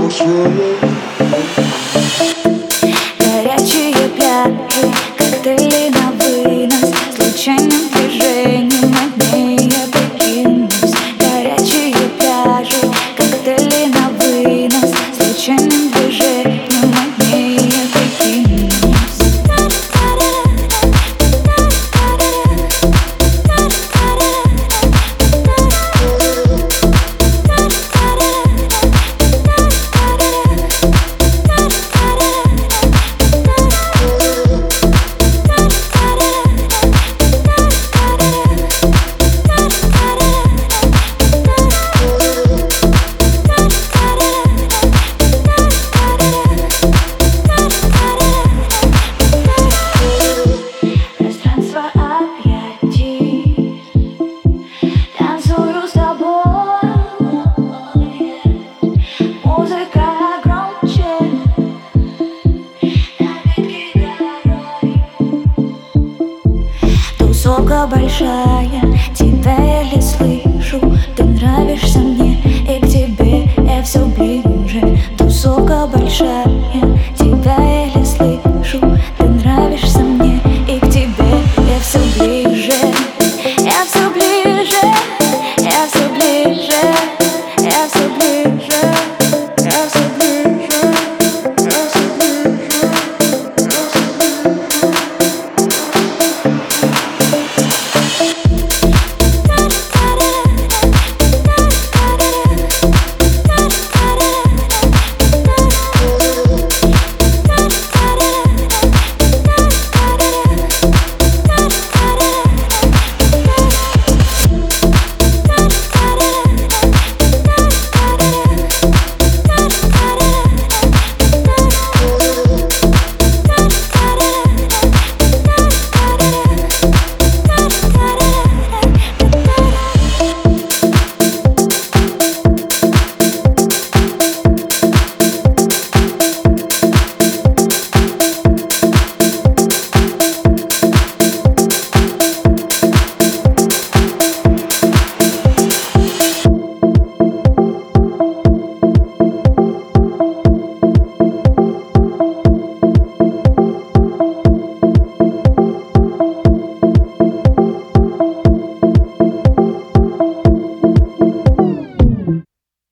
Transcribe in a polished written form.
Горячие пляжи, коктейли на вынос, случайным движением одни я прикинусь. Горячие пляжи, коктейли на вынос, случайным движением одни я прикинусь. Тусовка большая, тебя еле слышу. Ты нравишься мне, и к тебе я все ближе. Тусовка большая.